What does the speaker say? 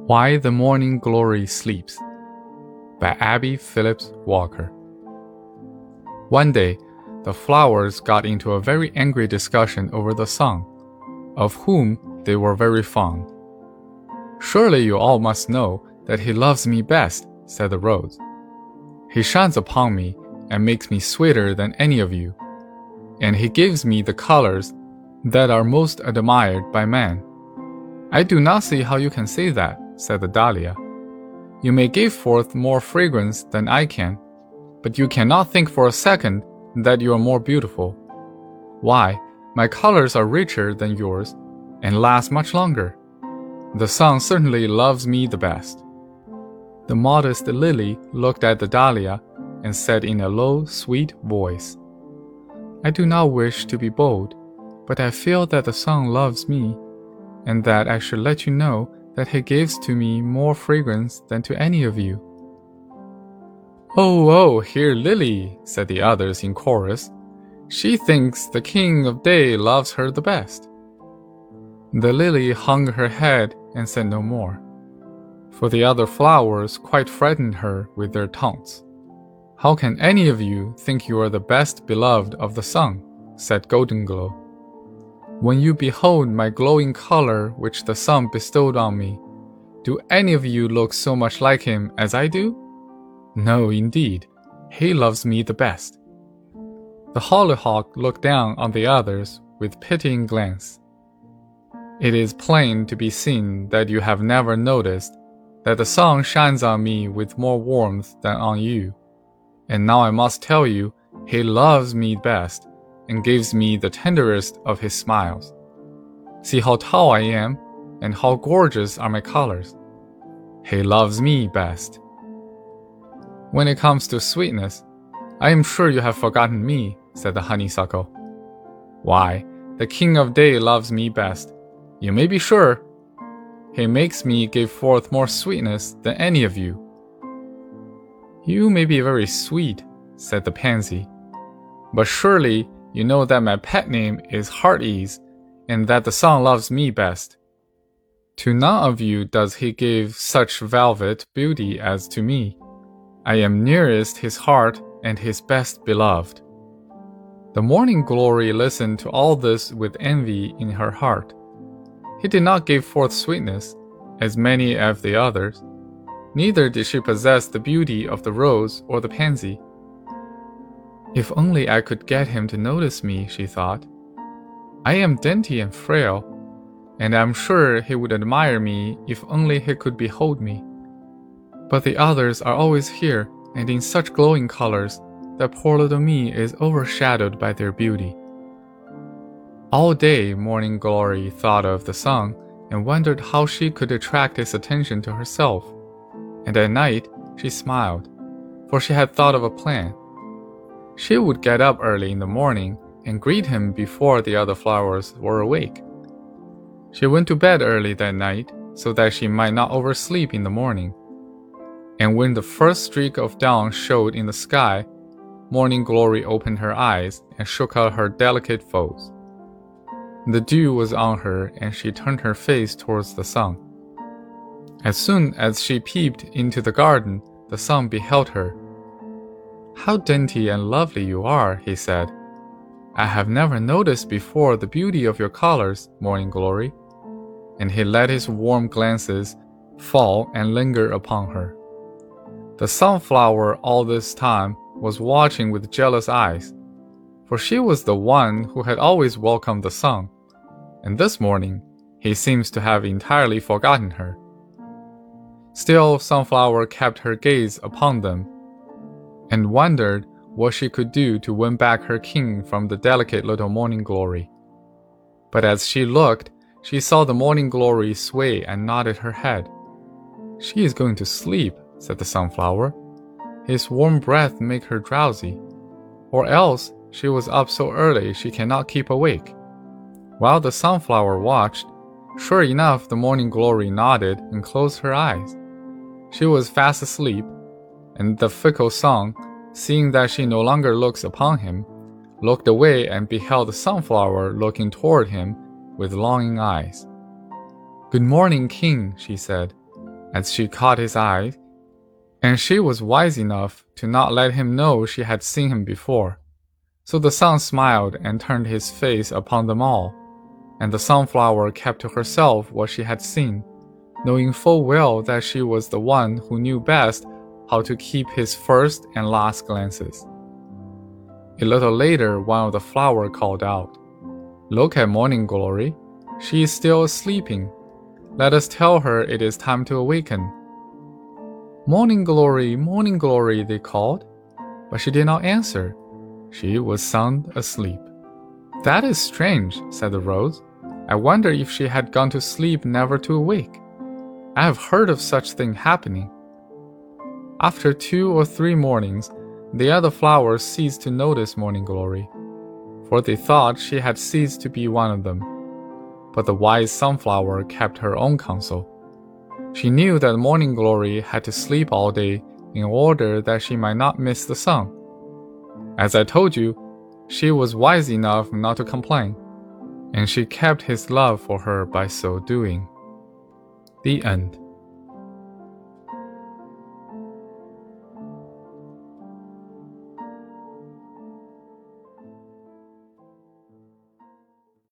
Why the Morning Glory Sleeps by Abby Phillips Walker. One day, the flowers got into a very angry discussion over the sun, of whom they were very fond. "Surely you all must know that he loves me best," said the rose. "He shines upon me and makes me sweeter than any of you, and he gives me the colors that are most admired by man." "I do not see how you can say that," said the dahlia. "You may give forth more fragrance than I can, but you cannot think for a second that you are more beautiful. Why, my colors are richer than yours and last much longer. The sun certainly loves me the best." The modest lily looked at the dahlia and said in a low, sweet voice, "I do not wish to be bold, but I feel that the sun loves me, and that I should let you know that he gives to me more fragrance than to any of you." Oh, hear Lily," said the others in chorus. "She thinks the king of day loves her the best." The lily hung her head and said no more, for the other flowers quite frightened her with their taunts. "How can any of you think you are the best beloved of the sun?" said Golden Glow. "When you behold my glowing color which the sun bestowed on me, do any of you look so much like him as I do? No, indeed, he loves me the best." The hollyhock looked down on the others with pitying glance. "It is plain to be seen that you have never noticed that the sun shines on me with more warmth than on you, and now I must tell you he loves me best and gives me the tenderest of his smiles. See how tall I am, and how gorgeous are my colors. He loves me best. When it comes to sweetness, I am sure you have forgotten me," said the honeysuckle. "Why, the king of day loves me best, you may be sure. He makes me give forth more sweetness than any of you." "You may be very sweet," said the pansy, "but surely you know that my pet name is Heartease, and that the sun loves me best. To none of you does he give such velvet beauty as to me. I am nearest his heart and his best beloved." The Morning Glory listened to all this with envy in her heart. He did not give forth sweetness, as many of the others. Neither did she possess the beauty of the rose or the pansy. "If only I could get him to notice me," she thought. "I am dainty and frail, and I am sure he would admire me if only he could behold me. But the others are always here and in such glowing colors that poor little me is overshadowed by their beauty." All day Morning Glory thought of the sun and wondered how she could attract his attention to herself, and at night she smiled, for she had thought of a plan. She would get up early in the morning and greet him before the other flowers were awake. She went to bed early that night so that she might not oversleep in the morning. And when the first streak of dawn showed in the sky, Morning Glory opened her eyes and shook out her delicate folds. The dew was on her, and she turned her face towards the sun. As soon as she peeped into the garden, the sun beheld her. "How dainty and lovely you are," he said. "I have never noticed before the beauty of your colors, Morning Glory." And he let his warm glances fall and linger upon her. The sunflower all this time was watching with jealous eyes, for she was the one who had always welcomed the sun, and this morning he seems to have entirely forgotten her. Still, Sunflower kept her gaze upon them, and wondered what she could do to win back her king from the delicate little Morning Glory. But as she looked, she saw the Morning Glory sway and nodded her head. "She is going to sleep," said the Sunflower. "His warm breath make her drowsy, or else she was up so early she cannot keep awake." While the Sunflower watched, sure enough the Morning Glory nodded and closed her eyes. She was fast asleep, and the fickle sun, seeing that she no longer looks upon him, looked away and beheld the Sunflower looking toward him with longing eyes. "Good morning, King," she said. as she caught his eye, and she was wise enough to not let him know she had seen him before. So the sun smiled and turned his face upon them all, and the sunflower kept to herself what she had seen, knowing full well that she was the one who knew best how to keep his first and last glances. A little later, one of the flowers called out, "Look at Morning Glory. She is still sleeping. Let us tell her it is time to awaken." Morning Glory, they called, but she did not answer. She was sound asleep. That is strange, said the rose. I wonder if she had gone to sleep never to awake. I have heard of such thing happening. After 2 or 3 mornings, the other flowers ceased to notice Morning Glory, for they thought she had ceased to be one of them. But the wise sunflower kept her own counsel. She knew that Morning Glory had to sleep all day in order that she might not miss the sun. As I told you, she was wise enough not to complain, and she kept his love for her by so doing. The end.